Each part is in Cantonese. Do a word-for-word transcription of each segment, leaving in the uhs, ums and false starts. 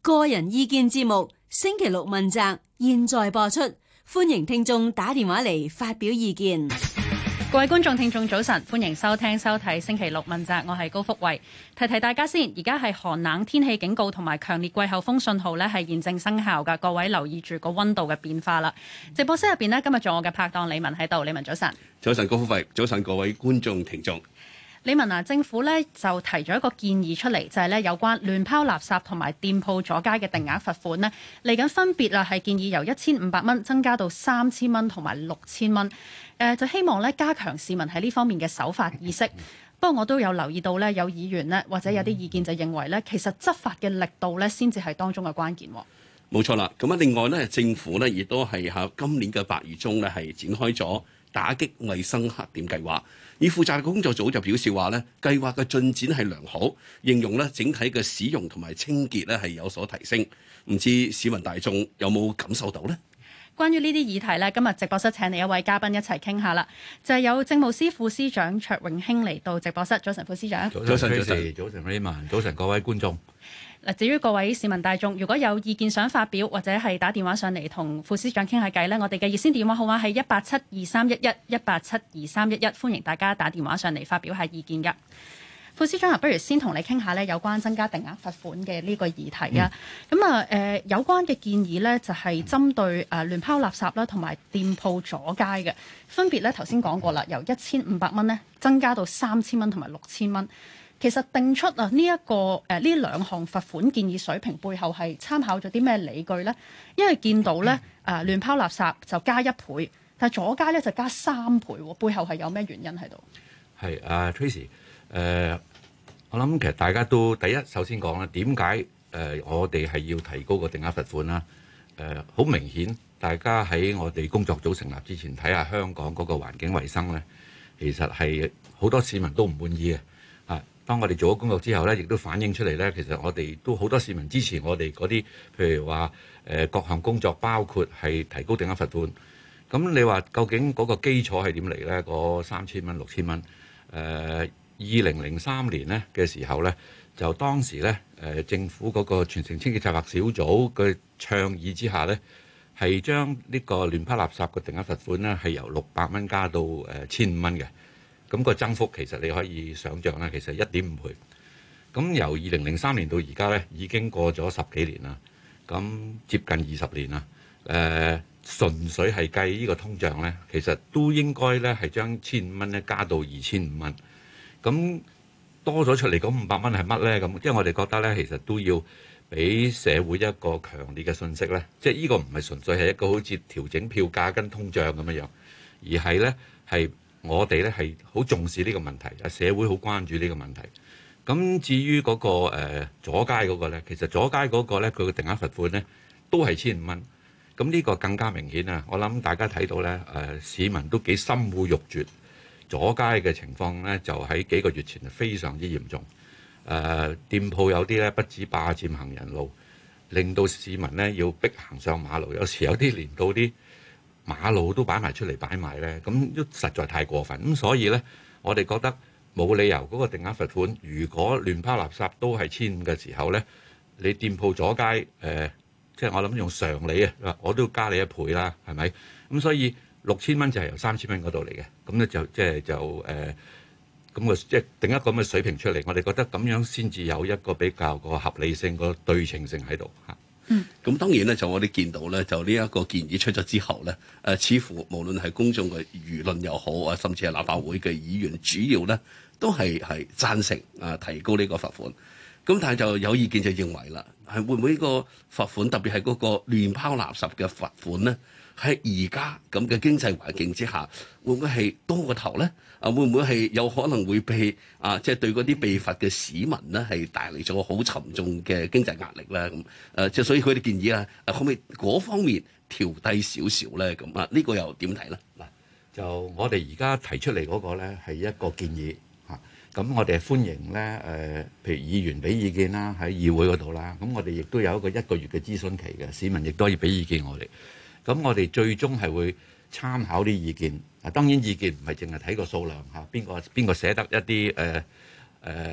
個人意見節目星期六問責，現在播出，歡迎聽眾打電話嚟發表意見。 各位觀眾聽眾早晨，歡迎收聽收睇星期六問責，我係高福慧。提提大家先，而家係寒冷天氣警告同埋強烈季候風信號呢係現正生效㗎，各位留意住個溫度嘅變化啦。直播室入邊呢，今日仲有我嘅拍檔李文喺度，李文早晨。 早晨高福慧，早晨各位觀眾聽眾。 李文啊，政府咧就提咗一個建議出嚟，就係咧有關亂拋垃圾同埋店鋪阻街嘅定額罰款呢，嚟緊分別啊係建議由一千五百蚊增加到三千蚊同埋六千蚊。誒、呃、就希望咧加強市民喺呢方面嘅守法意識。不過我都有留意到咧，有議員呢，或者有啲意見就認為咧，其實執法嘅力度咧先至係當中嘅關鍵。 冇錯啦，咁啊另外咧，政府咧亦都係喺今年嘅八月中咧係展開咗打擊衛生黑點計劃。而負責嘅工作組就表示話咧，計劃嘅進展係良好，形容咧整體嘅使用同埋清潔咧係有所提升。唔知市民大眾有冇感受到呢？ 關於呢啲議題呢，今日直播室請嚟一位嘉賓一齊傾下啦，就係、是、有政務司副司長卓永興嚟到直播室。早晨，副司長。 早晨，早晨，早晨 Raymond， 早晨各位觀眾。 嗱，至於各位市民大眾，如果有意見想發表，或者係打電話上嚟同副司長傾下偈呢，我哋嘅熱線電話號碼係一八七二三一一一八七二三一一，歡迎大家打電話上嚟發表下意見㗎。副司長啊，不如先同你傾下咧有關增加定額罰款嘅呢個議題啊。咁啊誒有關嘅建議呢，就係針對誒亂拋垃圾啦同埋店鋪阻街嘅，分別咧頭先講過啦，由一千五百蚊咧增加到三千蚊同埋六千蚊。其實定出啊呢一個誒呢兩項罰款建議水平背後係參考咗啲咩理據呢？因為見到咧誒亂拋垃圾就加一倍，但係阻街咧就加三倍，背後係有咩原因喺度？ 係啊 Tracy，誒、呃、我諗其實大家都第一首先講啦，點解誒我哋係要提高個定額罰款啦？誒、呃、好明顯，大家喺我哋工作組成立之前睇下香港嗰個環境衛生咧，其實係好多市民都唔滿意嘅。當我哋做咗工作之後咧，亦都反映出嚟咧，其實我哋都好多市民支持我哋嗰啲，譬如話誒各項工作，包括係提高定額罰款。咁你話究竟嗰個基礎係點嚟咧？嗰三千蚊、六千蚊？誒，二零零三年咧嘅時候咧，就當時咧誒政府嗰個全城清潔策劃小組嘅倡議之下咧，係將呢個亂拋垃圾嘅定額罰款咧係由六百蚊加到誒千五蚊嘅。咁個增幅其實你可以想像啦，其實一點五倍。咁由二零零三年到而家咧，已經過咗十幾年啦，咁接近二十年啦。誒、呃，純粹係計呢個通脹咧，其實都應該咧係將千五蚊咧加到二千五蚊。咁多咗出嚟嗰五百蚊係乜咧？咁即係我哋覺得咧，其實都要俾社會一個強烈嘅訊息咧，即係呢個唔係純粹係一個好似調整票價跟通脹咁樣樣，而係咧係。我哋咧係好重視呢個問題，啊社會好關注呢個問題。咁至於嗰、那個、呃、阻街嗰個咧，其實阻街嗰個咧佢嘅定額罰款咧都係千五蚊。咁呢個更加明顯啊！我諗大家睇到咧誒、呃、市民都幾心惡欲絕，阻街嘅情況咧就喺幾個月前非常之嚴重。誒、呃、店鋪有啲咧不止霸佔行人路，令到市民咧要逼行上馬路，有時有啲連到啲馬路都擺埋出嚟擺埋咧，咁都實在太過分。咁所以咧，我哋覺得冇理由嗰個定額罰款，如果亂拋垃圾都係千五嘅時候咧，你店鋪阻街誒、呃，即係我諗用常理啊，我都加你一倍啦，係咪？咁所以六千蚊就係由三千蚊嗰度嚟嘅，咁咧就即係就誒咁個即係定一個咁嘅水平出嚟。我哋覺得咁樣先至有一個比較個合理性、個對稱性喺度嚇。 嗯，咁當然咧，就我哋見到咧，就呢一個建議出咗之後咧，誒、呃，似乎無論係公眾嘅輿論又好啊，甚至係立法會嘅議員，主要咧都係係贊成啊、呃、提高呢個罰款。咁但係就有意見就認為啦，係會唔會呢個罰款，特別係嗰個亂拋垃圾嘅罰款咧，喺而家咁嘅經濟環境之下，會唔會係多過頭咧？啊，會唔會係有可能會被啊，即係對嗰啲被罰嘅市民咧，係帶嚟咗好沉重嘅經濟壓力咧？咁誒，即係所以佢哋建議啊，可唔可以嗰方面調低少少咧？咁啊，呢個又點睇咧？ 嗱，就我哋而家提出嚟嗰個咧係一個建議嚇，咁我哋歡迎咧誒，譬如議員俾意見啦，喺議會嗰度啦，咁我哋亦都有一個一個月嘅諮詢期嘅，市民亦都可以俾意見我哋。咁我哋最終係會參考啲意見。啊，當然意見唔係淨係睇個數量嚇，邊個邊個寫得一啲誒誒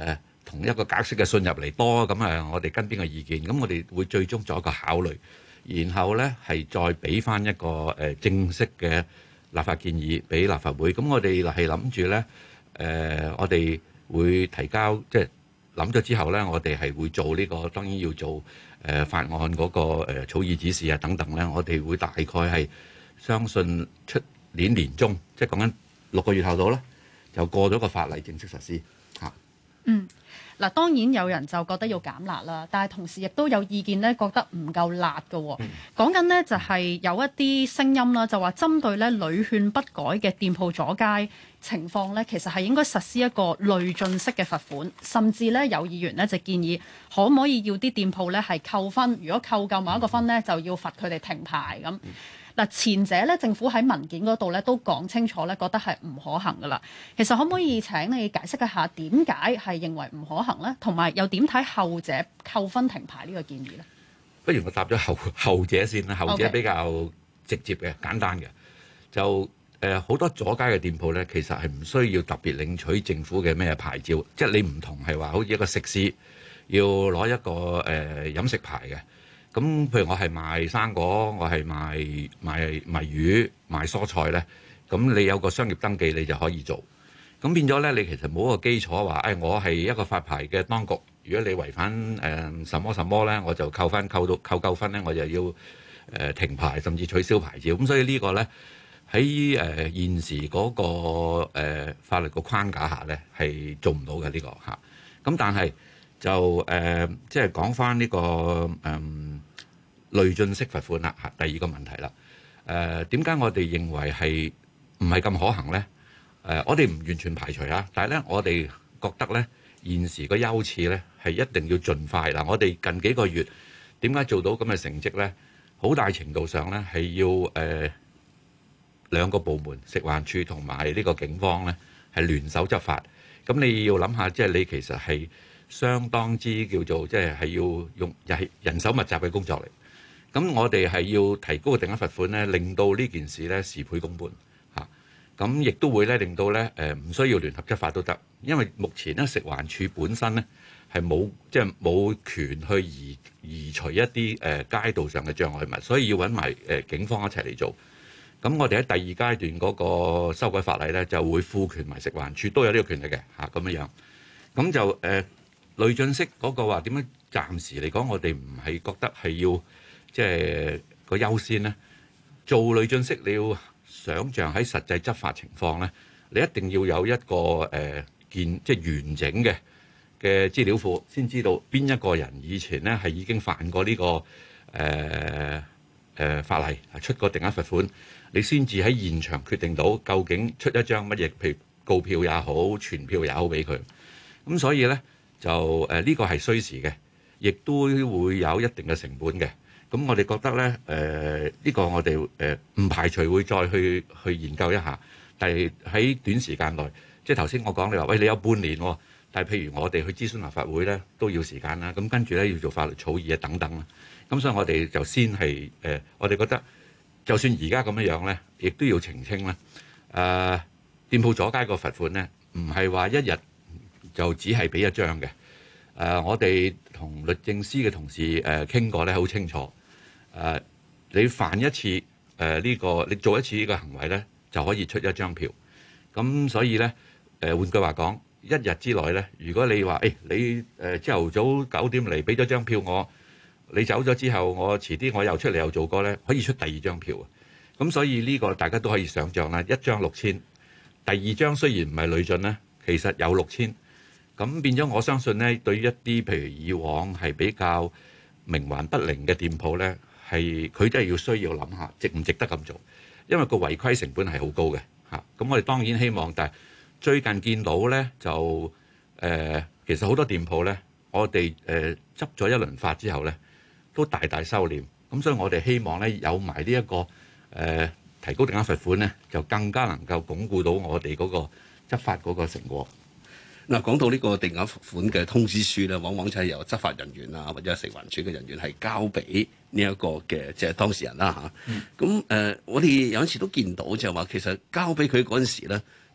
同一個格式嘅信入嚟多，咁誒我哋跟邊個意見，咁我哋會最終做一個考慮，然後咧係再俾翻一個誒正式嘅立法建議俾立法會。咁我哋係諗住咧誒，我哋會提交，即係諗咗之後咧，我哋係會做呢個，當然要做誒法案嗰個誒草擬指示啊等等咧，我哋會大概係相信出年年中，即係講緊六個月後到啦，就過咗個法例正式實施嚇。 嗯。嗱，當然有人就覺得要減辣啦，但係同時亦都有意見咧，覺得唔夠辣嘅、哦。講緊呢就係有一啲聲音啦，就話針對咧屢勸不改嘅店鋪阻街情況咧，其實係應該實施一個累進式嘅罰款，甚至咧有議員咧就建議可唔可以要啲店鋪咧係扣分，如果扣夠某一個分咧，就要罰佢哋停牌咁。嗱，前者咧，政府喺文件嗰度咧都講清楚咧，覺得係唔可行噶啦。其實可唔可以請你解釋一下點解係認為唔可行咧？同埋又點睇後者扣分停牌呢個建議咧？ 不如我答咗後後者先啦，後者比較直接嘅、簡單嘅。就誒好、呃、多阻街嘅店鋪咧，其實係唔需要特別領取政府嘅咩牌照，即係你唔同係話好似一個食肆要攞一個誒、呃、飲食牌嘅。咁譬如我係賣生果，我係賣賣賣魚、賣蔬菜咧，咁你有個商業登記，你就可以做。咁變咗咧，你其實冇一個基礎話，誒、哎、我係一個發牌嘅當局，如果你違反誒、呃、什麼什麼咧，我就扣分，扣到扣夠分咧，我就要誒、呃、停牌，甚至取消牌照。咁所以個呢個咧喺誒現時嗰、那個、呃、法律個框架下咧係做唔到嘅呢個嚇。咁但係就誒、呃、即係講翻呢個誒。呃累進式罰款啦嚇，第二個問題啦。誒點解我哋認為係唔係咁可行呢？誒、呃、我哋唔完全排除啊，但係咧我哋覺得咧現時個優次咧係一定要盡快嗱。我哋近幾個月點解做到咁嘅成績咧？好大程度上咧係要誒、呃、兩個部門食環署同埋呢個警方咧係聯手執法。咁你要諗下，即係你其實係相當之叫做即係係要用又係人手密集嘅工作嚟。咁我哋係要提高個定額罰款咧，令到呢件事咧事倍功半嚇。咁亦都會咧令到咧誒唔需要聯合執法都得，因為目前咧食環署本身咧係冇即係冇權去移移除一啲誒、呃、街道上嘅障礙物，所以要揾埋誒警方一齊嚟做。咁我哋喺第二階段嗰個修改法例咧，就會賦權埋食環署都有呢個權力嘅嚇咁樣樣。咁就誒、呃、累進式嗰個話點樣？暫時嚟講，我哋唔係覺得係要。即係個優先咧，做累進式你要想像喺實際執法情況咧，你一定要有一個誒、呃、件即係完整嘅嘅資料庫，先知道邊一個人以前咧係已經犯過呢、這個誒誒、呃呃、法例，出過定額罰款，你先至喺現場決定到究竟出一張乜嘢，譬如告票也好、傳票也好俾佢。咁所以咧就誒呢、呃這個係需時嘅，亦都會有一定嘅成本嘅。咁我哋覺得咧，誒、呃、呢、這個我哋誒唔排除會再去去研究一下，但係喺短時間內，即係頭先我講你話，喂你有半年喎、哦，但係譬如我哋去諮詢立法會咧，都要時間啦。咁跟住咧要做法律草擬啊等等啦。咁所以我哋就先係誒、呃，我哋覺得就算而家咁樣樣咧，亦都要澄清啦。誒、呃、店鋪阻街個罰款咧，唔係話一日就只係俾一張嘅。誒、呃、我哋同律政司嘅同事誒傾過咧，好清楚。誒、呃，你犯一次誒呢、呃這個，你做一次呢個行為咧，就可以出一張票。咁所以咧，誒、呃、換句話講，一日之內咧，如果你話誒、欸、你誒朝頭早九點嚟俾咗張票我，你走咗之後，我遲啲我又出嚟又做過咧，可以出第二張票。咁所以呢個大家都可以想像啦，一張六千，第二張雖然唔係累進咧，其實有六千。咁變咗，我相信咧，對於一啲譬如以往係比較冥頑不靈嘅店鋪咧。係佢真係要需要諗下，值唔值得咁做？因為個違規成本係好高嘅嚇。咁我哋當然希望，但係最近見到咧就誒、呃，其實好多店鋪咧，我哋誒執咗一輪法之後咧，都大大收斂。咁所以我哋希望咧有埋呢一個誒、呃、提高定額罰款咧，就更加能夠鞏固到我哋嗰個執法嗰個成果。 嗱，講到呢個定額罰款嘅通知書咧，往往就係由執法人員啊，或者係食環署嘅人員係交俾呢一個嘅即係當事人啦嚇。咁誒、嗯呃，我哋有陣時都見到就係話，其實交俾佢嗰陣時咧，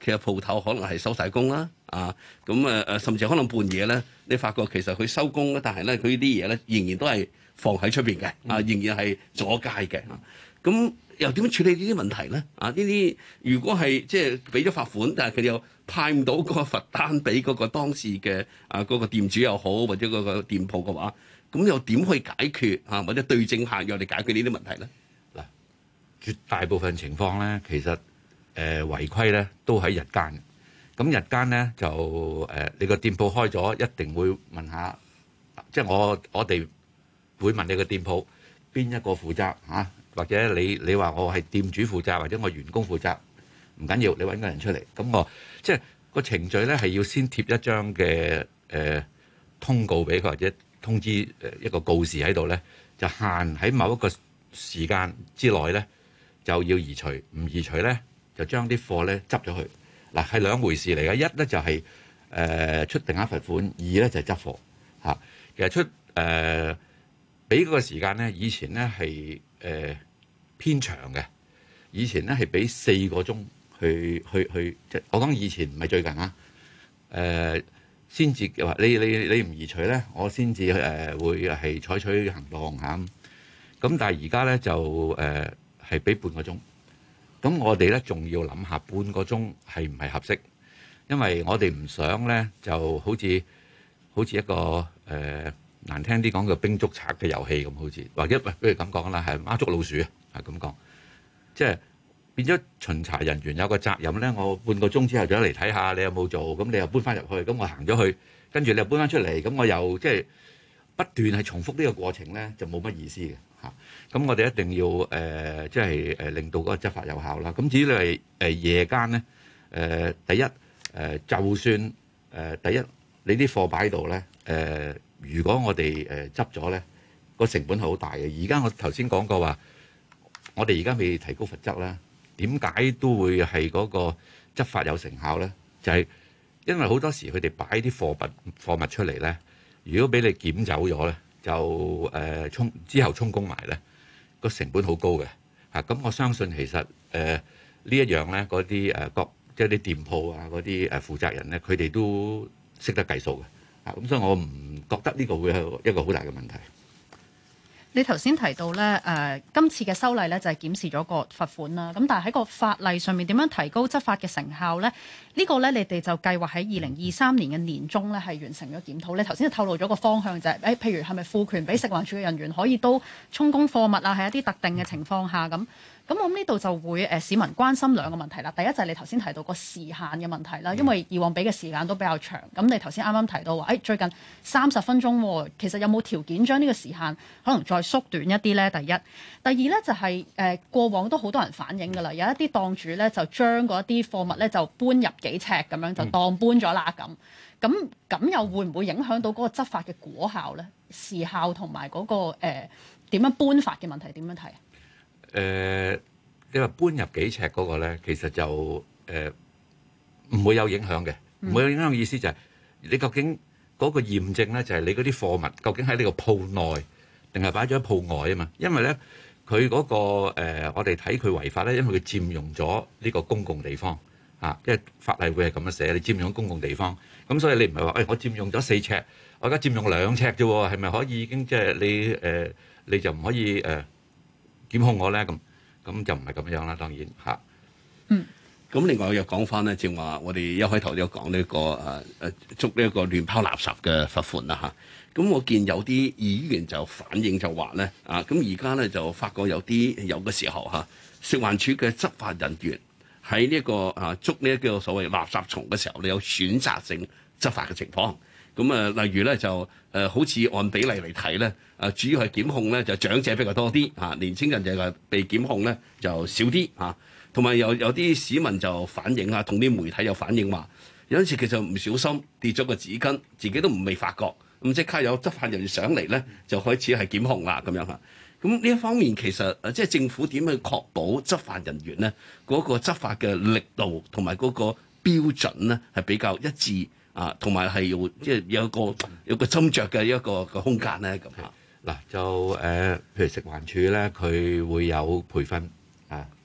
其實鋪頭可能係收晒工啦，啊，咁誒誒，甚至可能半夜咧，你發覺其實佢收工咧，但係咧佢啲嘢咧仍然都係放喺出邊嘅，啊，仍然係阻街嘅，咁又點樣處理呢啲問題咧？啊，呢啲如果係即係俾咗罰款，但係佢又派唔到嗰個罰單俾嗰個當時嘅啊嗰個店主又好，或者嗰個店鋪嘅話，咁又點去解決啊？或者對症下藥嚟解決呢啲問題咧？ 嗱，絕大部分情況咧，其實誒、呃、違規咧都喺日間。咁日間咧就誒、呃，你個店鋪開咗，一定會問下，即係我我哋會問你個店鋪邊一個負責嚇、啊，或者你你話我係店主負責，或者我員工負責，唔緊要，你揾個人出嚟。咁我即係個程序咧係要先貼一張嘅誒、呃、通告俾佢，或者通知誒一個告示喺度咧，就限喺某一個時間之內咧就要移除，唔移除咧就將啲貨咧執咗去。嗱，係兩回事嚟嘅，一咧就係、是、誒、呃、出定額罰款，二咧就係、是、執貨嚇、啊。其實出誒俾嗰個時間咧，以前咧係誒偏長嘅，以前咧係俾四個鐘去去去，即係我講以前唔係最近啊。誒先至話你你你唔移除咧，我先至誒會係採取行動嚇。咁、啊、但係而家咧就誒係俾半個鐘。咁我哋咧仲要諗下半個鐘係唔係合適，因為我哋唔想咧就好似好似一個誒、呃、難聽啲講嘅兵捉賊嘅遊戲咁，好似或者喂，不如咁講啦，係貓捉老鼠啊，係咁講，即係變咗巡查人員有個責任咧。我半個鐘之後就嚟睇下你有冇做，咁你又搬翻入去，咁我行咗去，跟住你又搬翻出嚟，咁我又即係不斷係重複呢個過程咧，就冇乜意思嘅。咁、啊、我哋一定要誒、呃，即係誒令到嗰個執法有效啦。咁至於你係誒夜間咧，誒、呃、第一誒、呃，就算誒、呃、第一你啲貨擺喺度咧，誒、呃、如果我哋誒執咗咧，個成本係好大嘅。而家我頭先講過話，我哋而家未提高罰則啦，點解都會係嗰個執法有成效咧？就係、是、因為好多時佢哋擺啲貨物貨物出嚟咧，如果俾你檢走咗咧，就誒充、呃、之後充公埋咧，個成本好高嘅嚇。咁、啊、我相信其實誒、呃、呢一樣咧，嗰啲誒各即係啲店鋪啊，嗰啲誒負責人咧，佢哋都識得計數嘅嚇。咁、啊、所以我唔覺得呢個會係一個好大嘅問題。 你頭先提到咧，誒、呃、今次嘅修例咧就係、是、檢視咗個罰款啦。咁但係喺個法例上面點樣提高執法嘅成效咧？這個、呢個咧你哋就計劃喺二零二三年嘅年中咧係完成咗檢討。你頭先就透露咗個方向就係、是，誒、哎、譬如係咪賦權俾食環署嘅人員可以都充公貨物啊？喺一啲特定嘅情況下咁。咁我呢度就會誒、呃、市民關心兩個問題啦。第一就係你頭先提到個時限嘅問題啦，因為以往俾嘅時間都比較長。咁你頭先啱啱提到話，誒、哎、最近三十分鐘、哦，其實有冇條件將呢個時限可能再縮短一啲咧？第一，第二咧就係、是、誒、呃、過往都好多人反映㗎啦，有一啲檔主咧就將嗰啲貨物咧就搬入幾尺咁樣，就當搬咗啦咁。咁咁又會唔會影響到嗰個執法嘅果效咧？時效同埋嗰個誒點、呃、樣搬法嘅問題點樣睇？ 誒、呃，你話搬入幾尺嗰個咧，其實就誒唔、呃、會有影響嘅，唔、嗯、會有影響嘅意思就係、是、你究竟嗰個驗證咧，就係你嗰啲貨物究竟喺呢個鋪內定係擺咗喺鋪外啊嘛？因為咧佢嗰個、呃、我哋睇佢違法咧，因為佢佔用咗呢個公共地方啊，因為法例會係咁樣寫，你佔用公共地方，咁所以你唔係話誒我佔用咗四尺，我而家佔用兩尺啫喎，係咪可以已經即係你誒、呃、你就唔可以誒？呃檢控我咧，咁咁就唔係咁樣啦，當然嚇。 嗯，咁另外又講翻咧，正話我哋一開頭有講呢、這個誒誒捉呢一個亂拋垃圾嘅罰款啦嚇。咁、啊、我見有啲議員就反映就話咧啊，咁而家咧就發覺有啲有嘅時候嚇、啊，食環署嘅執法人員喺呢、這個啊捉呢一個所謂垃圾蟲嘅時候，你有選擇性執法嘅情況。咁啊，例如咧就誒、呃，好似按比例嚟睇咧，誒、啊、主要係檢控咧就長者比較多啲嚇、啊，年青人就係被檢控咧就少啲嚇。同、啊、埋有有啲市民就反映啊，同啲媒體有反映話，有陣時其實唔小心跌咗個紙巾，自己都唔未發覺，咁即刻有執法人員上嚟咧，就開始係檢控啦咁樣嚇。咁呢一方面其實誒，即係政府點去確保執法人員咧嗰、那個執法嘅力度同埋嗰個標準咧係比較一致。啊，同埋係要即係有一個有一個斟酌嘅一個個空間咧咁嚇。 嗱就誒、呃，譬如食環署咧，佢會有培訓啊，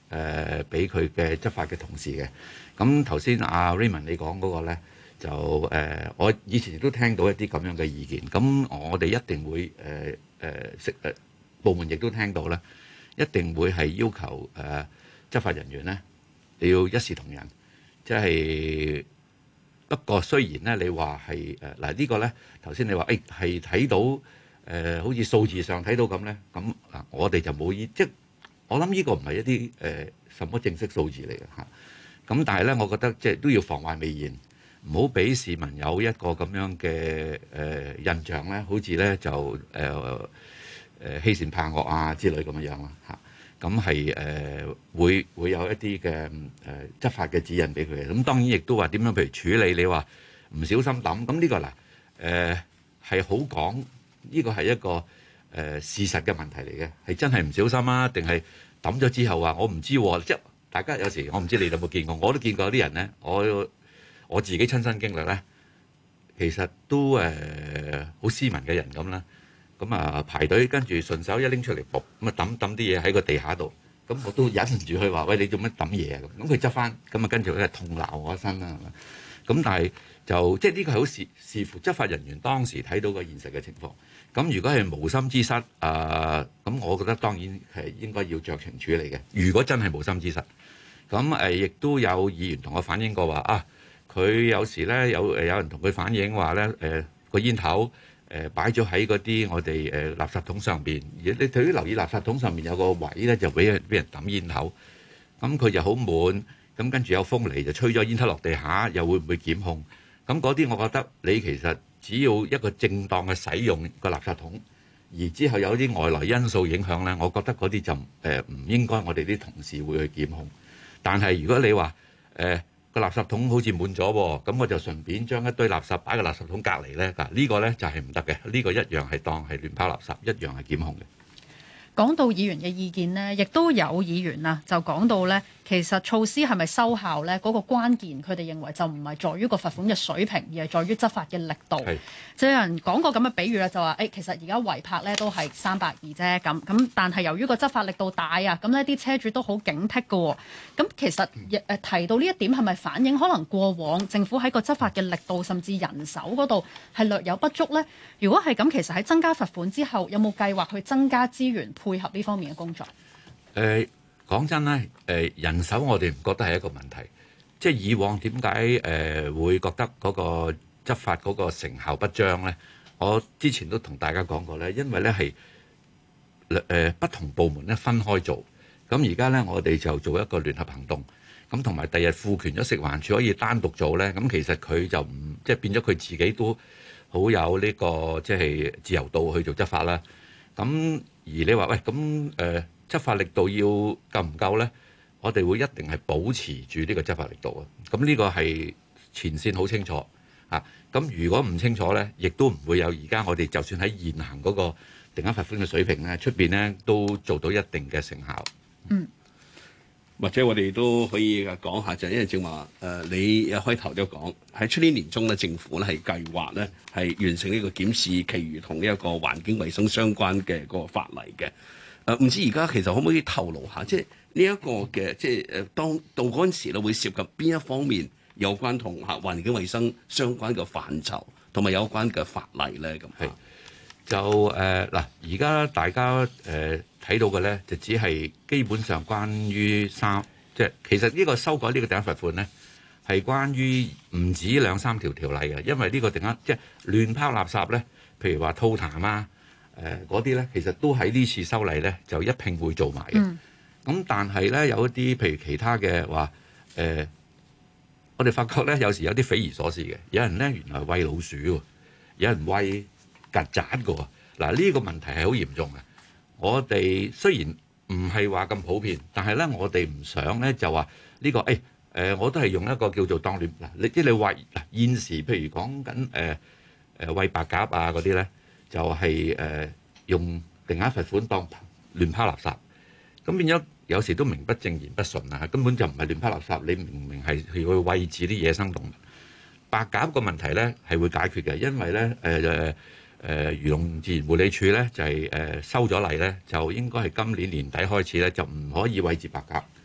誒俾佢嘅執法嘅同事嘅。咁頭先阿 Raymond 你講嗰個咧，就誒、呃、我以前亦都聽到一啲咁樣嘅意見。咁我哋一定會誒誒食誒部門亦都聽到咧，一定會係要求誒、呃、執法人員咧，你要一視同仁。即係不過雖然咧，你話係誒嗱呢個咧，頭先你話誒係睇到誒、呃、好似數字上睇到咁咧，咁嗱我哋就冇依即係我諗呢個唔係一啲誒、呃、什麼正式數字嚟嘅嚇。咁但係咧，我覺得即係都要防患未然，唔好俾市民有一個咁樣嘅誒、呃、印象咧，好似咧就誒誒、呃呃、欺善怕惡啊之類咁樣樣啦嚇。咁係誒會會有一啲嘅誒執法嘅指引俾佢嘅。咁當然亦都話點樣譬如處理，你話唔小心抌，咁呢個嗱誒係好講，呢、呢個係一個誒、呃、事實嘅問題嚟嘅，係真係唔小心啊，定係抌咗之後話我唔知喎、啊，即大家有時我唔知你有冇見過，我都見過有啲人咧，我我自己親身經歷咧，其實都誒好、呃、斯文嘅人咁啦，咁啊排隊跟住順手一拎出嚟仆，咁啊抌抌啲嘢喺個地下度，咁我都忍唔住去話喂，你做乜抌嘢啊？咁咁佢執翻，咁啊跟住佢痛鬧我一身啦，係嘛？咁但係就即係呢個係好視視乎執法人員當時睇到個現實嘅情況。咁如果係無心之失，啊、呃，咁我覺得當然係應該要酌情處理嘅。如果真係無心之失，咁誒亦都有議員同我反映過話啊，佢有時咧有誒有人同佢反映話咧誒個煙頭誒擺咗喺嗰啲我哋誒、呃、垃圾桶上邊，而你睇留意垃圾桶上面有個位咧就俾人俾人抌煙頭，咁佢就好滿，咁跟住有風嚟就吹咗煙頭落地下，又會唔會檢控？咁嗰啲我覺得你其實只要一個正當嘅使用個垃圾桶，而之後有啲外來因素影響咧，我覺得嗰啲就誒唔、呃、應該我哋啲同事會去檢控。但係如果你話誒個垃圾桶好似滿咗喎，咁我就順便將一堆垃圾擺個垃圾桶隔離咧，嗱、這、呢個咧就係唔得嘅，呢、這個一樣係當係亂拋垃圾，一樣係檢控嘅。 講到議員嘅意見呢，亦都有議員啊，就講到呢，其實措施係咪收效呢？嗰、那個關鍵，佢哋認為就唔係在於個罰款嘅水平，而係在於執法嘅力度。就有人講過咁嘅比喻啦，就話誒、欸，其實而家違泊呢都係三百二啫，咁咁，但係由於個執法力度大啊，咁呢啲車主都好警惕㗎。咁其實誒提到呢一點，係咪反映可能過往政府喺個執法嘅力度，甚至人手嗰度係略有不足呢？如果係咁，其實喺增加罰款之後，有冇計劃去增加資源？配合呢方面嘅工作。誒、 呃，講真咧，誒、呃、人手我哋唔覺得係一個問題。即係以往點解誒會覺得嗰個執法嗰個成效不彰咧？我之前都同大家講過咧，因為咧係誒不同部門咧分開做。咁而家咧我哋就做一個聯合行動。咁同埋第日賦權咗食環署可以單獨做咧，咁其實佢就唔即係變咗佢自己都好有呢、這個即係自由度去做執法啦。咁而你話喂咁誒、呃、執法力度要夠唔夠呢？我哋會一定係保持住呢個執法力度啊！咁呢個係前線好清楚啊！咁如果唔清楚呢，亦都唔會有而家我哋就算喺現行嗰個定額罰款嘅水平呢，出邊呢都做到一定嘅成效。 嗯， 或者我哋都可以講下，就係因為正話誒，你一開頭都講喺出年年中咧，政府咧係計劃咧係完成呢個檢視，其餘同呢一個環境衞生相關嘅嗰個法例嘅。誒、呃，唔知而家其實可唔可以透露下，即係呢一個嘅即係誒，當到嗰陣時咧會涉及邊一方面有關同嚇環境衞生相關嘅範疇，同埋有關嘅法例咧？咁係就誒嗱，而家大家誒。呃睇到嘅咧，就只係基本上關於三，即係其實呢個修改呢個定額罰款咧，係關於唔止兩三條條例嘅，因為呢個定額即係亂拋垃圾咧，譬如話吐痰啊，誒嗰啲咧，其實都喺呢次修例咧就一併會做埋嘅。咁、嗯、但係咧有一啲譬如其他嘅話，誒、呃、我哋發覺咧有時有啲匪夷所思嘅，有人咧原來餵老鼠喎，有人餵曱甴嘅喎，嗱呢個問題係好嚴重嘅。我哋雖然唔係話咁普遍，但係咧，我哋唔想咧就話呢、這個誒誒、呃，我都係用一個叫做當亂嗱，你即係你餵嗱現時，譬如講緊誒誒餵白鴿啊嗰啲咧，就係、是、誒、呃、用定額罰款當亂拋垃圾，咁變咗有時都名不正言不順啊，根本就唔係亂拋垃圾，你明明係去餵飼啲野生動物。白鴿個問題咧係會解決嘅，因為咧誒誒。呃誒漁農自然護理署咧就係、是、誒、呃、收咗例咧，就應該係今年年底開始咧就唔可以餵飼白鴿。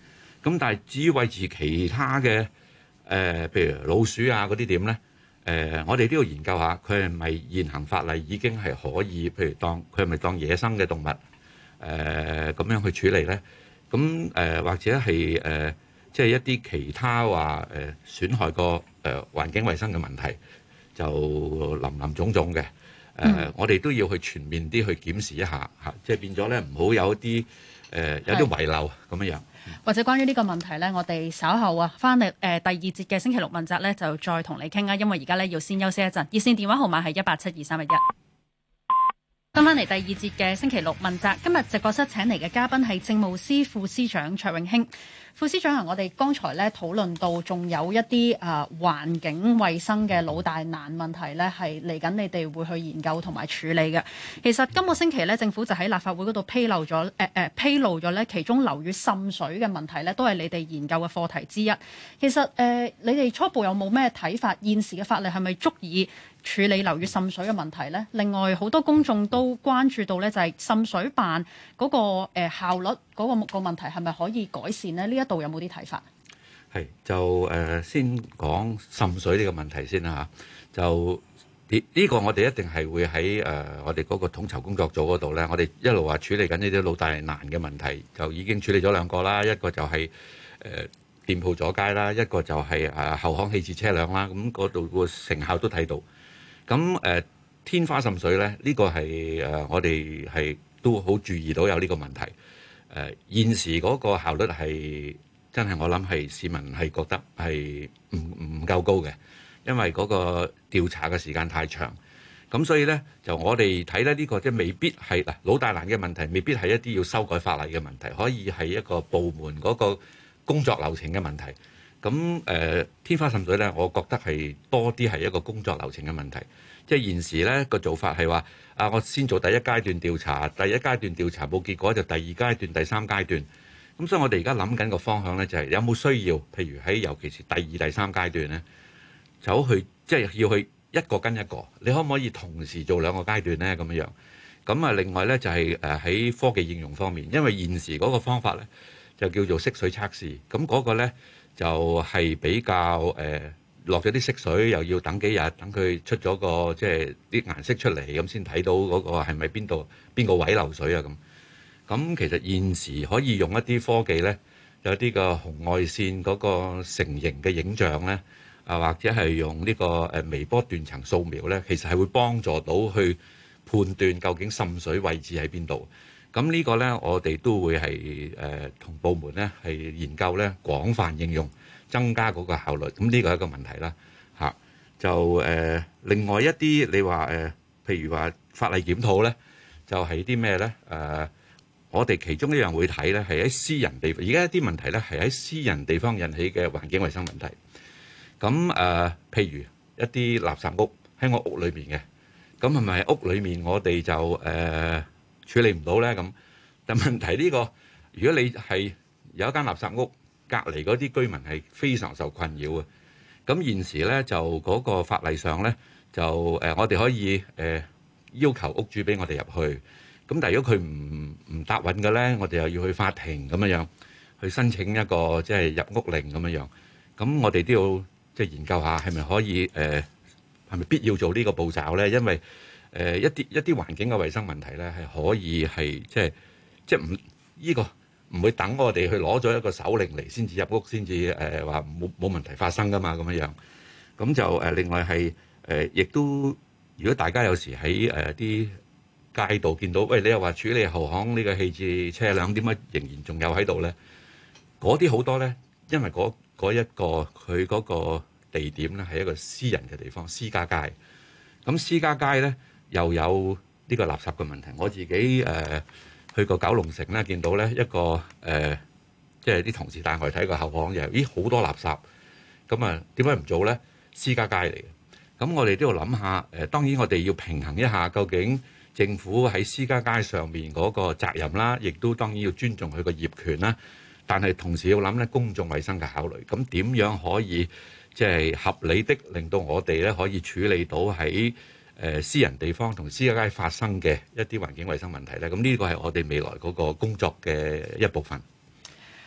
咁但係至於維持其他嘅誒、呃，譬如老鼠啊嗰啲點咧？誒、呃，我哋都要研究下佢係咪現行法例已經係可以，譬如當佢係咪當野生嘅動物誒咁、呃、樣去處理咧？咁誒、呃、或者係誒、呃、即係一啲其他話誒、呃、損害個誒、呃、環境衛生嘅問題，就林林總總嘅誒、呃嗯，我哋都要去全面啲去檢視一下嚇，即係變咗咧唔好有啲誒、呃、有啲遺漏咁樣樣。 或者關於呢個問題呢，我哋稍後啊，翻嚟誒第二節嘅星期六問責呢，就再同你傾啊。因為而家呢，要先休息一陣，熱線電話號碼係一八七二三一一。翻返嚟第二節嘅星期六問責，今日直播室請嚟嘅嘉賓係政務司副司長卓永興。副司長啊，我哋剛才咧討論到，仲有一啲啊環境衛生嘅老大難問題咧，係嚟緊你哋會去研究同埋處理嘅。其實今個星期咧，政府就喺立法會嗰度披露咗誒誒披露咗咧，其中樓宇滲水嘅問題咧，都係你哋研究嘅課題之一。其實誒、呃，你哋初步有冇咩睇法？現時嘅法例係咪足以處理樓宇滲水嘅問題呢？另外好多公眾都關注到呢，就係滲水辦嗰個誒效率嗰個個問題係咪可以改善呢？呢一度有冇啲睇法？ 係就誒、呃、先講滲水呢個問題先啦嚇。就呢呢、呢個我哋一定係會喺誒、呃、我哋嗰個統籌工作組嗰度呢，我哋一路話處理緊呢啲老大難嘅問題，就已經處理咗兩個啦。一個就係、是、誒、呃、店鋪阻街啦，一個就係誒後巷棄置車輛啦。咁嗰度個成效都睇到。咁誒、呃、天花滲水咧，呢、這個係誒、呃、我哋係都好注意到有呢個問題。誒、呃、現時嗰個效率係真係我諗係市民係覺得係唔唔夠高嘅，因為嗰個調查嘅時間太長。咁所以咧就我哋睇咧呢個即係未必係嗱老大難嘅問題，未必係一啲要修改法例嘅問題，可以係一個部門嗰個工作流程嘅問題。咁誒、呃、天花滲水咧，我覺得係多啲係一個工作流程嘅問題。即係現時咧個做法係話啊，我先做第一階段調查，第一階段調查冇結果就第二階段、第三階段。咁所以我哋而家諗緊個方向咧，就係、是、有冇需要，譬如喺尤其是第二、第三階段咧，走去即係、就是、要去一個跟一個，你可唔可以同時做兩個階段咧？咁樣樣。咁啊，另外咧就係誒喺科技應用方面，因為現時嗰個方法咧就叫做色水測試，咁嗰個咧。就係、是、比較誒、呃、落咗啲色水，又要等幾日，等佢出咗個即係啲顏色出嚟，咁先睇到嗰個係咪邊度邊個位漏水啊？咁咁其實現時可以用一啲科技咧，有啲個紅外線嗰個成型嘅影像咧，啊或者係用呢個誒微波斷層掃描咧，其實係會幫助到去判斷究竟滲水位置喺邊度。咁呢個呢，我哋都會係誒同部門呢係研究呢廣泛應用，增加嗰個效率。咁呢個係一個問題啦，嚇、啊、就誒、呃、另外一啲你話誒、呃，譬如話法例檢討呢，就係啲咩呢？誒、呃，我哋其中一樣會睇呢，係喺私人地方，而家一啲問題呢，係喺私人地方引起嘅環境衛生問題。咁誒、呃，譬如一啲垃圾屋喺我屋裏面嘅，咁係咪喺屋裏面我哋就誒？呃處理唔到咧咁，但問題呢、呢個，如果你係有一間垃圾屋，隔離嗰啲居民係非常受困擾嘅。咁現時咧就嗰個法例上咧，就誒、呃、我哋可以誒、呃、要求屋主俾我哋入去。咁但係如果佢唔唔答允嘅咧，我哋又要去法庭咁樣樣去申請一個即係入屋令咁樣樣。咁我哋都要即係研究下係咪可以誒係咪必要做呢個步驟咧？因為誒、呃、一啲一啲環境嘅衛生問題咧，係可以係即係即係唔呢個唔會等我哋去攞咗一個手令嚟先至入屋，先至誒話冇冇問題發生噶嘛咁樣樣。咁就誒、呃、另外係誒亦都，如果大家有時喺誒啲街道見到，喂你又話處理後巷呢個棄置車輛，點解仍然仲有喺度咧？嗰啲好多咧，因為嗰一個佢嗰個地點咧係一個私人嘅地方，私家街。咁私家街咧，又有呢個垃圾嘅問題。我自己誒、呃、去過九龍城咧，見到咧一個誒、呃，即係啲同事帶我去睇個後巷，又咦好多垃圾。咁啊，點解唔做咧？私家街嚟嘅。咁我哋都要諗下誒、呃，當然我哋要平衡一下，究竟政府喺私家街上面嗰個責任啦，亦都當然要尊重佢個業權啦。但係同時要諗咧公眾衛生嘅考慮。咁點樣可以即係合理的令到我哋咧可以處理到喺誒私人地方同私家街發生嘅一啲環境衛生問題咧？咁呢個係我哋未來嗰個工作嘅一部分。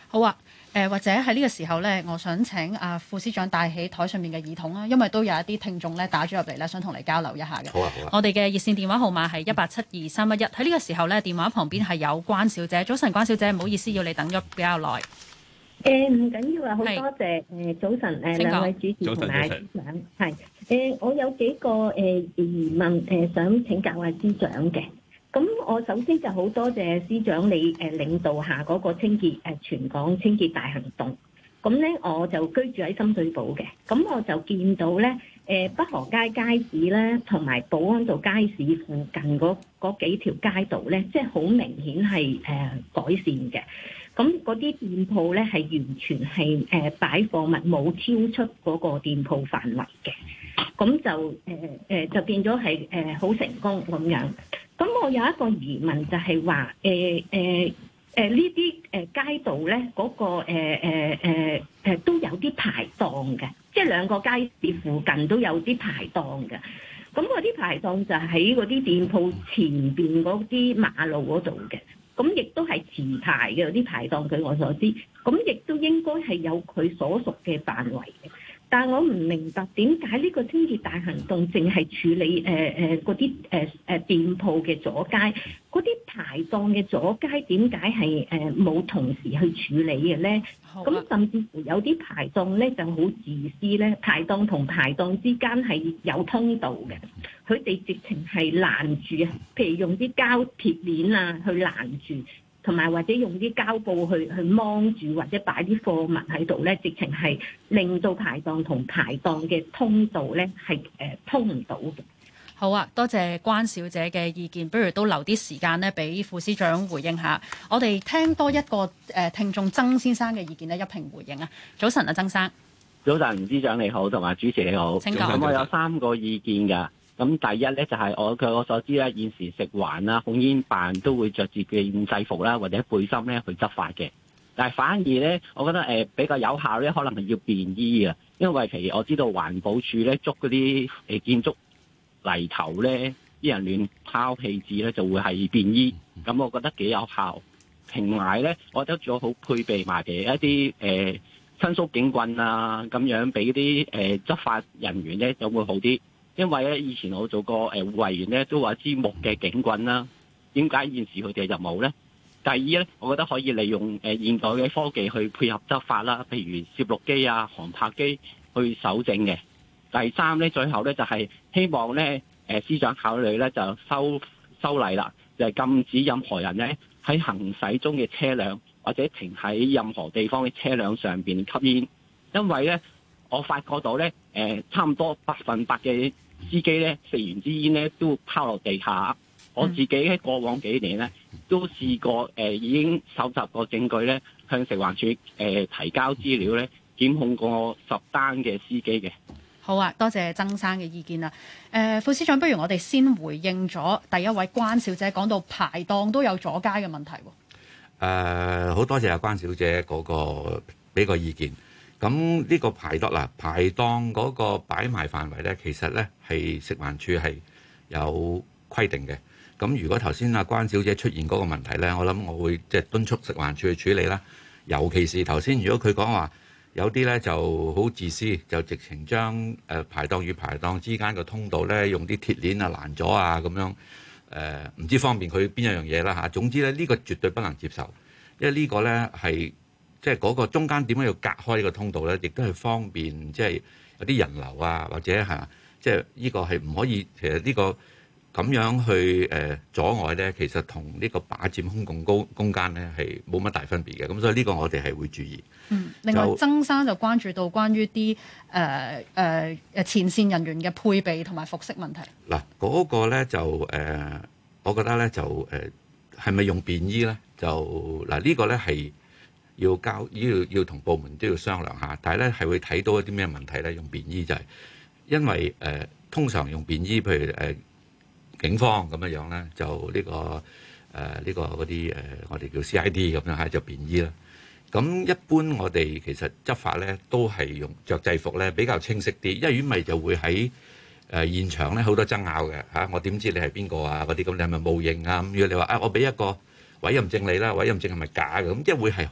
好啊。誒、呃、或者喺呢個時候咧，我想請阿、啊、副司長帶起台上面嘅耳筒啦，因為都有一啲聽眾咧打咗入嚟咧，想同你交流一下嘅。 好啊，好啊。 我哋嘅熱線電話號碼係一八七二三一一。喺呢個時候咧，電話旁邊係有關小姐。早晨，關小姐，唔好意思要你等咗比較耐。 誒唔緊要啊，好多謝誒早晨誒兩位主持同埋司長。係誒，我有幾個誒疑問誒想請教下司長嘅。咁我首先就好多謝司長你誒領導下嗰個清潔誒全港清潔大行動。咁咧我就居住喺深水埗嘅，咁我就見到咧誒北河街街市咧同埋保安道街市附近嗰嗰幾條街道咧，即係好明顯係誒改善嘅。咁嗰啲店鋪咧係完全係誒擺貨物冇超出嗰個店鋪範圍嘅，咁就誒誒、呃、就變咗係誒好成功咁樣。咁我有一個疑問就係話誒誒誒呢啲誒街道咧嗰、那個誒誒誒誒都有啲排檔嘅，即係兩個街市附近都有啲排檔嘅。咁嗰啲排檔就喺嗰啲店鋪前邊嗰啲馬路嗰度嘅。咁亦都係持牌嘅啲排檔，據我所知，咁亦都應該係有佢所屬嘅範圍嘅。但係我唔明白點解呢個清潔大行動淨係處理誒誒嗰啲誒誒店鋪嘅阻街，嗰啲排檔嘅阻街點解係誒冇同時去處理嘅咧？咁、啊、甚至乎有啲排檔咧就好自私咧，排檔同排檔之間係有通道嘅，佢哋直情係攔住啊，譬如用啲膠鐵鏈啊去攔住。同埋或者用啲膠布去去掹住，或者擺啲貨物喺度咧，直情係令到排檔同排檔嘅通道咧係誒通唔到嘅。 好啊，多謝關小姐嘅意見，不如都留啲時間咧俾副司長回應下。我哋聽多一個誒、呃、聽眾曾先生嘅意見咧，一併回應啊。早晨啊，曾生。 早晨，司長你好，同埋主持你好。 請講。 咁我有三個意見㗎。咁第一咧就係、是、我據我所知咧，現時食環啦、控煙辦都會着住件制服啦或者背心咧去執法嘅。但係反而咧，我覺得誒、呃、比較有效咧，可能係要便衣啊。因為譬如我知道環保署咧捉嗰啲誒建築泥頭咧，啲人亂拋棄置咧就會係便衣。咁我覺得幾有效。同埋咧，我覺得最好配備埋嘅一啲誒伸縮警棍啊，咁樣俾啲誒執法人員咧就會好啲。因為咧，以前我做過誒護衛員咧，都話支木嘅警棍啦。點解現時佢哋就冇咧？第二咧，我覺得可以利用誒現代嘅科技去配合執法啦，譬如攝錄機啊、航拍機去搜證嘅。第三咧，最後咧就係希望咧誒司長考慮咧就修修例啦，就係禁止任何人咧喺行駛中嘅車輛或者停喺任何地方嘅車輛上邊吸煙，因為咧我發覺到咧誒差唔多百分百嘅司機咧食完支煙咧都拋落地下。我自己喺過往幾年咧都試過誒、呃，已經搜集過證據咧，向食環署誒、呃、提交資料咧，檢控過十單嘅司機嘅。 好啊，多謝曾生嘅意見啦。誒、呃，副司長，不如我哋先回應咗第一位關小姐講到排檔都有阻街嘅問題。誒、 呃，好多謝阿關小姐嗰個俾個意見。咁呢個排檔嗱，排檔嗰個擺賣範圍咧，其實咧係食環署係有規定嘅。咁如果頭先阿關小姐出現嗰個問題咧，我諗我會即係敦促食環署去處理啦。尤其是頭先，如果佢講話有啲咧就好自私，就直情將誒排檔與排檔之間嘅通道咧用啲鐵鏈啊攔咗啊咁樣誒，唔知方便佢邊一樣嘢啦嚇。總之咧呢個絕對不能接受，因為呢個咧係即係嗰個中間點樣要隔開呢個通道咧，亦都係方便即係有啲人流啊或者係即係呢個係唔可以其實呢個。咁樣去誒、呃、阻礙咧，其實同呢個霸佔公共高空間咧係冇乜大分別嘅，咁所以呢個我哋係會注意。 嗯，另外曾生就關注到關於啲誒誒誒前線人員嘅配備同埋服飾問題。嗱， 嗰個咧就誒、呃，我覺得咧就誒係咪用便衣咧？就嗱、呃這個、呢個咧係要交要要同部門都要商量下，但係咧係會睇到一啲咩問題咧？用便衣就係、是、因為誒、呃、通常用便衣，譬如誒。呃警方咁樣樣咧，就呢、這個誒呢、呃這個嗰啲誒，我哋叫 C I D 咁樣嚇，就便衣啦。咁一般我哋其實執法咧，都係用着制服咧，比較清晰啲。因為如果咪就會喺誒、呃、現場咧好多爭拗嘅嚇，我點知你係邊個啊？嗰啲咁你係咪冒認啊？咁如果你話啊，我俾一個委任證你啦，委任證係咪假嘅？咁即係會係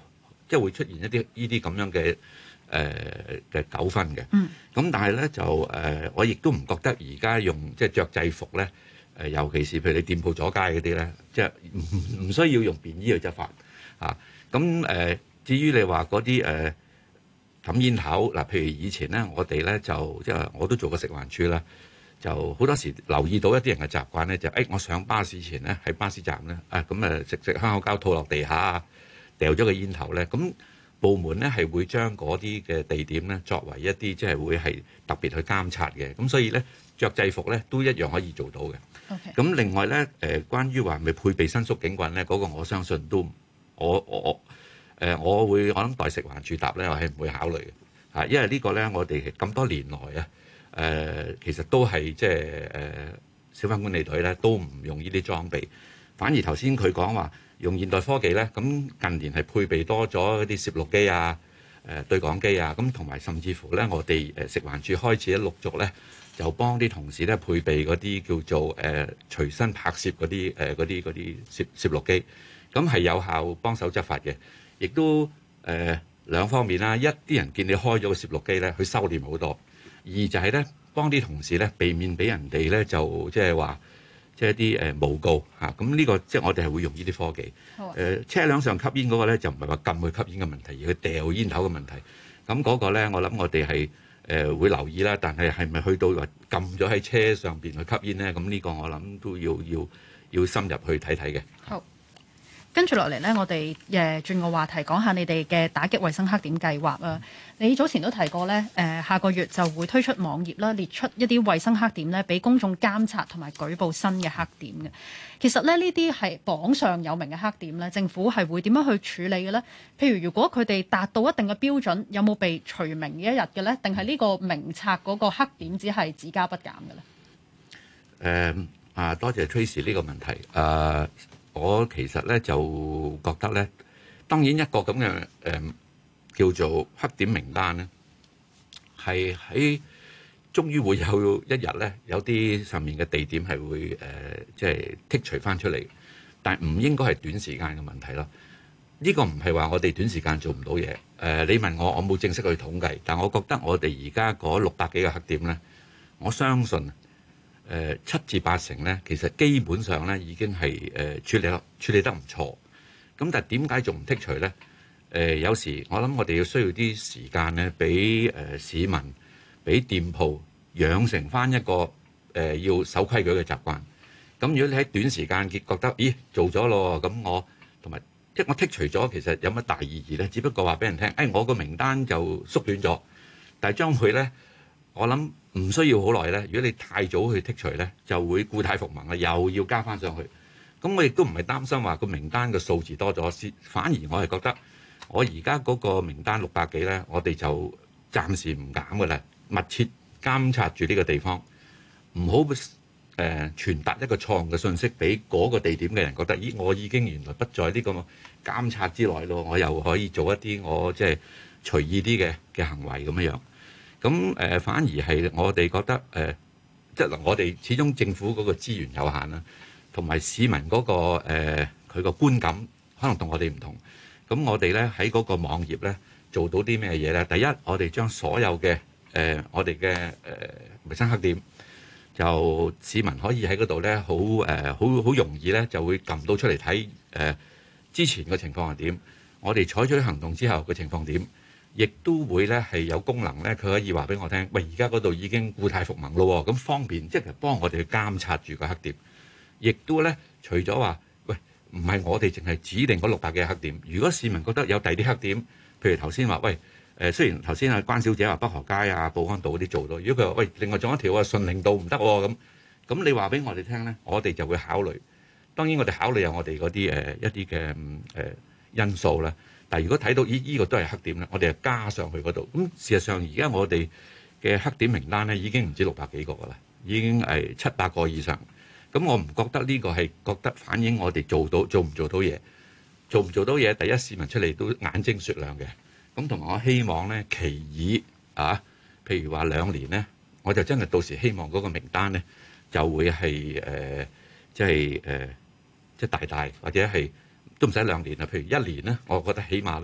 即係會出現一啲呢啲咁樣嘅誒嘅糾紛嘅。 嗯。 咁但係咧就誒、呃，我亦都唔覺得而家用即係着制服咧。誒，尤其是譬如你店鋪阻街嗰啲咧，即係唔唔需要用便衣去執法啊。咁誒、呃，至於你話嗰啲誒冚煙頭嗱，譬如以前咧，我哋咧就即係我都做過食環署啦，就好多時留意到一啲人嘅習慣咧，就誒、哎、我上巴士前咧喺巴士站咧啊，咁誒食食香口膠吐落地下啊，掉咗個煙頭咧，咁部門咧係會將嗰啲嘅地點咧作為一啲即係會係特別去監察嘅，咁所以咧着制服咧都一樣可以做到嘅。咁 Okay. 另外咧，誒、呃、關於話咪配備伸縮警棍咧，嗰、那個我相信都我我誒、呃、我會我諗代食環署答咧，我係唔會考慮嘅嚇，因為個呢個咧我哋咁多年來啊誒、呃、其實都係即係誒小販管理隊咧都唔用呢啲裝備，反而頭先佢講話用現代科技咧，咁近年係配備多咗一啲攝錄機啊、誒、呃、對講機啊，咁同埋甚至乎咧我哋誒食環署開始咧陸續咧。就幫啲同事咧配備嗰啲叫做誒、呃、隨身拍攝嗰啲誒嗰啲嗰啲攝攝錄機，咁係有效幫手執法嘅，亦都誒、呃、兩方面啦。一啲人見你開咗個攝錄機咧，佢收斂好多；二就係咧幫啲同事咧避免俾人哋咧就即係話即係一啲誒誣告嚇。咁、啊、呢、這個即係我哋係會用呢啲科技。誒、啊呃、車輛上吸煙嗰個咧就唔係話禁佢吸煙嘅問題，而係掉煙頭嘅問題。咁嗰個咧我諗我哋係。誒、呃、會留意啦，但係係咪去到話撳咗喺車上邊去吸煙咧？咁呢個我諗都要要要深入去睇睇嘅。 好，跟住落嚟呢，我哋誒轉個話題，講下你哋嘅打擊衞生黑點計劃啊。你早前都提過呢，誒、呃、下個月就會推出網頁啦，列出一啲衞生黑點呢，俾公眾監察同埋舉報新嘅黑點嘅。其實咧，呢啲係榜上有名嘅黑點咧，政府係會點樣去處理嘅咧？譬如如果佢哋達到一定嘅標準，有冇被除名嘅一日嘅咧？定係呢個名冊嗰個黑點只係只加不減嘅咧？ 誒、呃、啊，多謝 Tracy 呢個問題。誒、呃，我其實咧就覺得咧，當然一個咁嘅誒叫做黑點名單咧，係喺終於會有一日咧，有啲上面嘅地點係會誒、呃，即係剔除翻出嚟，但係唔應該係短時間嘅問題咯。呢、這個唔係話我哋短時間做唔到嘢。誒、呃，你問我，我冇正式去統計，但我覺得我哋而家嗰六百幾個黑點咧，我相信誒、呃、七至八成咧，其實基本上咧已經係誒、呃、處理處理得唔錯。咁但係點解仲唔剔除咧？誒、呃，有時我諗我哋要需要啲時間咧，俾誒、呃、市民。俾店鋪養成翻一個誒、呃、要守規矩嘅習慣。咁如果你喺短時間結覺得，咦做咗咯，咁我同埋即係我剔除咗，其實有乜大意義咧？只不過話俾人聽，誒、哎、我個名單就縮短咗，但係將佢咧，我諗唔需要好耐咧。如果你太早去剔除咧，就會故態復萌啦，又要加翻上去。咁我亦都唔係擔心話個名單嘅數字多咗先，反而我係覺得我而家嗰個名單六百幾咧，我哋就暫時唔減㗎啦。密切監察住呢個地方，唔好誒傳達一個錯誤嘅信息俾嗰個地點嘅人，覺得咦我已經原來不在呢個監察之內咯，我又可以做一啲我即係隨意啲嘅嘅行為咁樣樣。咁誒、呃、反而係我哋覺得誒、呃，即係我哋始終政府嗰個資源有限啦，同埋市民嗰、嗰個誒佢個觀感可能同我哋唔同。咁我哋咧喺嗰個網頁咧做到啲咩嘢咧？第一，我哋將所有嘅誒、呃，我哋嘅誒衞生黑點，就市民可以喺嗰度咧，好誒，好好容易咧，就會撳到出嚟睇誒之前嘅情況係點，我哋採取行動之後嘅情況點，亦都會咧係有功能咧，佢可以話俾我聽，喂，而家嗰度已經故態復萌咯，咁方便，即係幫我哋去監察住個黑點，亦都咧除咗話，喂，唔係我哋淨係指定嗰六百幾個黑點，如果市民覺得有第二啲黑點，譬如頭先話，喂。誒雖然頭先阿關小姐話北河街啊、保安道嗰啲做到，如果佢話喂另外仲一條啊順寧道唔得喎咁，咁你話俾我哋聽咧，我哋就會考慮。當然我哋考慮有我哋嗰啲誒一啲嘅誒因素啦。但係如果睇到咦依、這個都係黑點咧，我哋就加上去嗰度。咁事實上而家我哋嘅黑點名單咧已經唔止六百幾個噶啦，已經係七百個以上。咁我唔覺得呢個係覺得反映我哋做到做唔做到嘢，做唔做到嘢。第一市民出嚟都眼睛雪亮嘅。咁同埋我希望咧，其二啊，譬如話兩年咧，我就真係到時希望嗰個名單咧就會係誒，即係誒，即係大大或者係都唔使兩年啦。譬如一年咧，我覺得起碼咧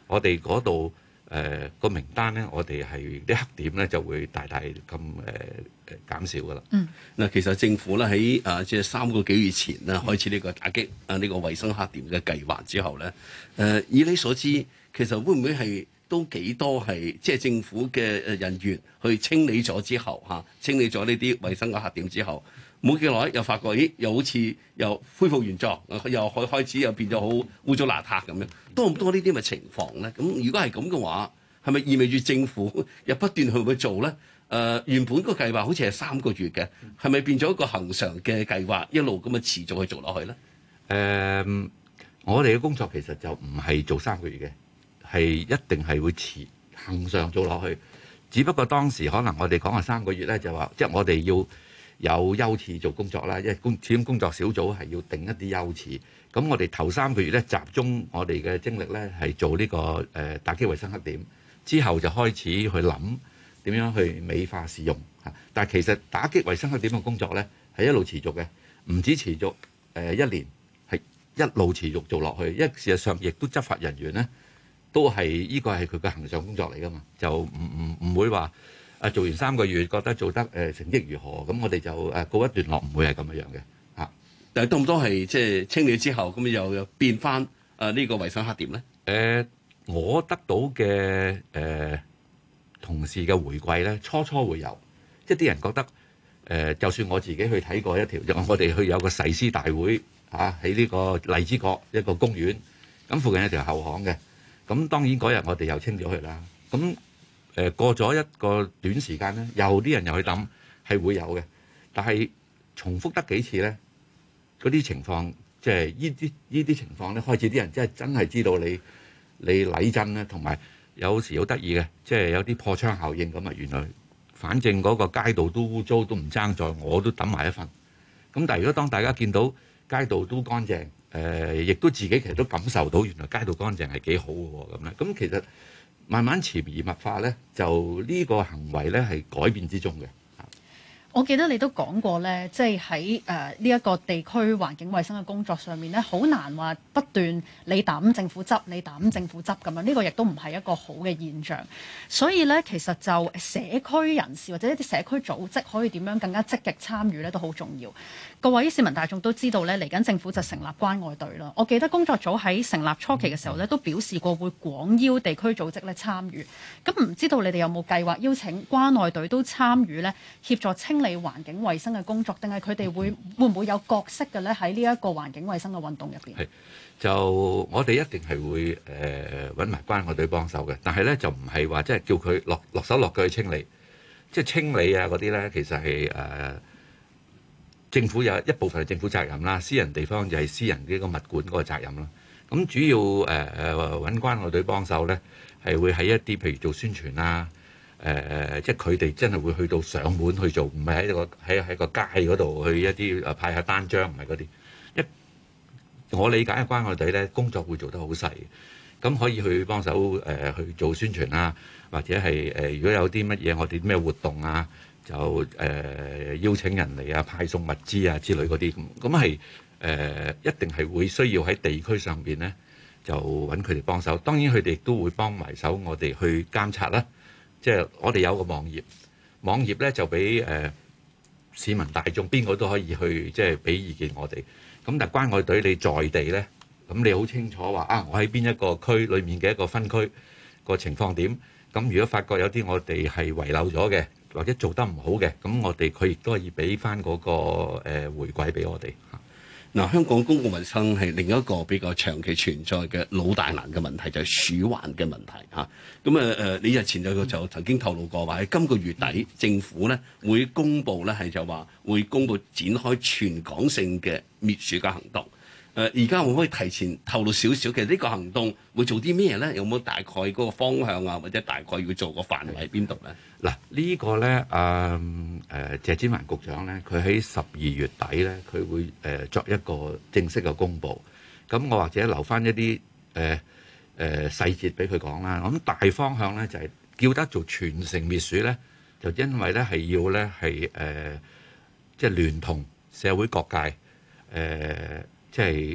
我哋嗰度誒個名單咧，我哋係啲黑點咧就會大大咁誒誒減少噶啦。 嗯， 嗱，其實政府咧喺啊即係三個幾月前咧開始呢個打擊啊呢個衞生黑點嘅計劃之後咧，誒、呃、以你所知，其實會唔會係都幾多係即係政府嘅誒人員去清理咗之後嚇、啊，清理咗呢啲衞生嘅黑點之後，冇幾耐又發覺，咦，又好似又恢復原狀，又開開始又變咗好污糟邋遢咁樣，多唔多呢啲咁嘅情況咧？咁如果係咁嘅話，係咪意味住政府又不斷去去做咧？誒、呃，原本個計劃好似係三個月嘅，係咪變咗一個恆常嘅計劃，一路咁樣持續去做落去咧？誒、 呃，我哋嘅工作其實就唔係做三個月嘅，係一定係會持恆常做落去。只不過當時可能我哋講話三個月咧，就話即係我哋要有優次做工作啦，因為工始終工作小組係要定一啲優次。咁我哋頭三個月咧集中我哋嘅精力咧係做呢、這個誒、呃、打擊衞生黑點，之後就開始去諗點樣去美化使用嚇。但係其實打擊衞生黑點嘅工作咧係一路持續嘅，唔止持續誒、呃、一年，係一路持續做落去。因為事實上亦都執法人員咧都係呢、這個係佢嘅恆常工作嚟噶嘛，就唔唔唔會話。啊！做完三個月覺得做得誒、呃、成績如何，咁我哋就誒告一段落，唔會係咁樣樣嘅嚇。 但係多唔多係即係清理之後，咁又又變翻誒呢個衞生黑點咧？誒、 呃，我得到嘅誒、呃、同事嘅回饋咧，初初會有，即係啲人覺得誒、呃，就算我自己去睇過一條，我哋去有個誓師大會嚇喺呢個荔枝角一個公園，咁附近有條後巷嘅，咁當然嗰日我哋又清咗佢啦，咁。誒過咗一個短時間咧，又啲人又去抌，係會有嘅。但係重複得幾次咧，嗰啲情況即係呢啲呢啲情況咧，開始啲人真係真係知道你你禮真咧，同埋有，有時好得意嘅，即係有啲破窗效應咁啊！原來反正嗰個街道都污糟，都唔爭在，我都抌埋一份。咁但係如果當大家見到街道都乾淨，誒、呃、亦都自己其實都感受到原來街道乾淨係幾好嘅喎，咁咧，咁其實。慢慢潛移默化咧，就呢個行為咧係改變之中嘅。 我記得你都講過咧，即係喺誒呢一個地區環境衛生嘅工作上面咧，好難話不斷你抌政府執，你抌政府執咁樣，呢個亦都唔係一個好嘅現象。所以咧，其實就社區人士或者一啲社區組織可以點樣更加積極參與咧，都好重要。各位市民大眾都知道咧，嚟緊政府就成立關愛隊啦。我記得工作組喺成立初期嘅時候咧，都表示過會廣邀地區組織咧參與。咁唔知道你哋有冇計劃邀請關愛隊都參與咧，協助清理環境衛生嘅工作，定係佢哋會會唔會有角色嘅咧？喺呢一個環境衛生嘅運動入邊，係就我哋一定係會誒揾埋關愛隊幫手嘅，但係咧就唔係話即係叫佢落落手落腳去清理，即係清理啊嗰啲咧，其實係誒、呃、政府有一部分係政府責任啦，私人地方就係私人呢個物管嗰個責任啦。咁主要誒誒揾關愛隊幫手咧，係會喺一啲譬如做宣傳啊。誒、呃，即係佢哋真係會去到上門去做，唔係喺個喺喺個街嗰度去一啲誒派下單張，唔係嗰啲。一我理解嘅關愛隊咧，工作會做得好細，咁可以去幫手誒、呃、去做宣傳啊，或者係誒、呃、如果有啲乜嘢我哋咩活動啊，就誒、呃、邀請人嚟啊，派送物資啊之類嗰啲咁，咁係誒一定係會需要喺地區上邊咧就揾佢哋幫手。當然佢哋亦都會幫埋手我哋去監察啦。即係我哋有個網頁，網頁咧就俾誒、呃、市民大眾邊個都可以去即係俾意見我哋。咁但係關愛隊你在地咧，咁你好清楚話啊，我喺邊一個區裡面嘅一個分區個情況點。咁如果發覺有啲我哋係遺漏咗嘅，或者做得唔好嘅，咁我哋佢亦都可以俾翻嗰個誒、呃、回饋俾我哋。 嗱，香港公共衛生係另一個比較長期存在嘅老大難嘅問題，就係、是、鼠患嘅問題嚇。咁啊誒，你日前就就曾經透露過話喺今個月底政府咧會公布咧係就話會公布展開全港性嘅滅鼠嘅行動。誒而家我可以提前透露少少，其實呢個行動會做啲咩咧？有冇大概嗰個方向啊，或者大概要做個範圍喺邊度咧？ 嗱，呢個咧，誒誒謝展寰局長咧，佢喺十二月底咧，佢會誒、呃、作一個正式嘅公佈。咁我或者留翻一啲誒誒細節俾佢講啦。咁大方向咧就係、是、叫得做全城滅鼠咧，就因為咧係要咧係誒即係聯同社會各界誒。呃即係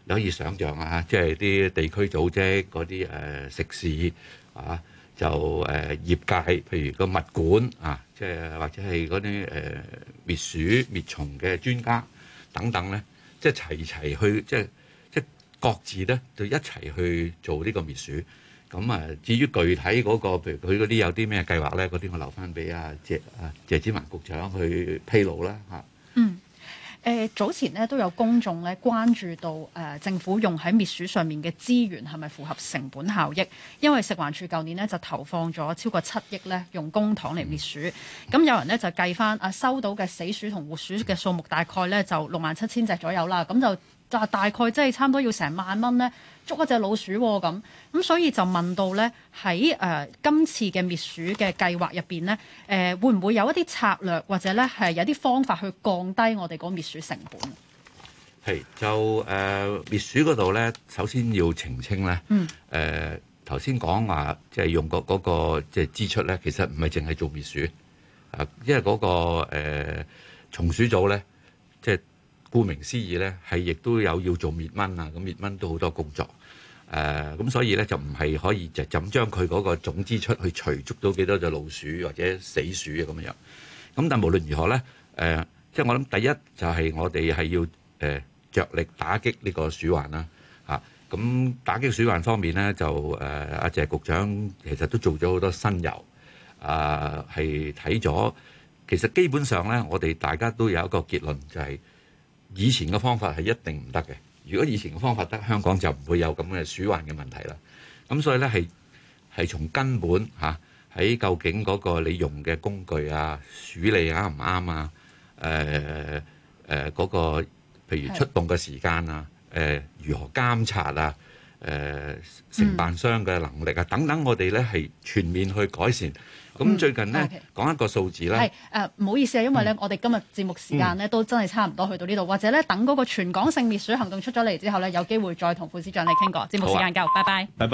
你可以想象啊，即係啲地區組織嗰啲誒食肆啊，就誒、呃、業界，譬如個物管啊，即係或者係嗰啲誒滅鼠滅蟲嘅專家等等咧，即係齊齊去，即係即係各自咧就一齊去做呢個滅鼠。咁啊，至於具體嗰、嗰個，譬如佢嗰啲有啲咩計劃咧，嗰啲我留翻俾阿謝啊謝展寰局長去披露啦嚇。 嗯。誒、呃、早前咧都有公眾咧關注到誒、呃、政府用喺滅鼠上面嘅資源係咪符合成本效益？因為食環署舊年咧就投放咗超過七億咧用公帑嚟滅鼠，咁有人咧就計翻啊收到嘅死鼠同活鼠嘅數目大概咧就六萬七千隻左右啦，咁就就大概即係差唔多要成萬蚊咧捉一隻老鼠喎咁，咁所以就問到咧喺誒今次嘅滅鼠嘅計劃入邊咧，誒、呃、會唔會有一啲策略或者咧係有啲方法去降低我哋嗰個滅鼠成本？ 係就誒、呃、滅鼠嗰度咧，首先要澄清咧，誒頭先講話即係用個嗰個即係支出咧，其實唔係淨係做滅鼠啊，因為嗰、嗰個誒、呃、松鼠組咧，即係顧名思義咧，係亦都有要做滅蚊啊，咁滅蚊都好多工作。誒咁、呃、所以咧就唔係可以就咁將佢嗰個總支出去除捉到幾多隻老鼠或者死鼠啊咁樣。咁但無論如何咧，誒、呃、即係我諗第一就係我哋係要誒着、呃、力打擊呢個鼠患啦嚇。咁、啊、打擊鼠患方面咧就誒阿、呃、謝局長其實都做咗好多新猷啊，係睇咗其實基本上咧我哋大家都有一個結論就係、是、以前嘅方法係一定唔得嘅。如果以前嘅方法得，香港就唔會有咁嘅鼠患嘅問題啦。咁所以咧係係從根本嚇喺、啊、究竟嗰個你用嘅工具啊、處理啱唔啱啊、誒誒嗰個譬如出動嘅時間啊、誒、呃、如何監察啊、誒、呃、承辦商嘅能力啊、嗯、等等，我哋咧係全面去改善。咁、嗯、最近咧講、okay. 一個數字啦， 係誒唔好意思啊，因為咧、嗯、我哋今日節目時間咧都真係差唔多去到呢度，或者咧等嗰個全港性滅鼠行動出咗嚟之後咧，有機會再同副司長你傾過。節目時間夠，拜拜。拜拜。